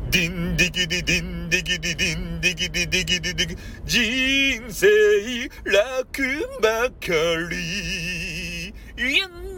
ディンディギディディンディギディディンディギディディギディディギ人生楽ばかり。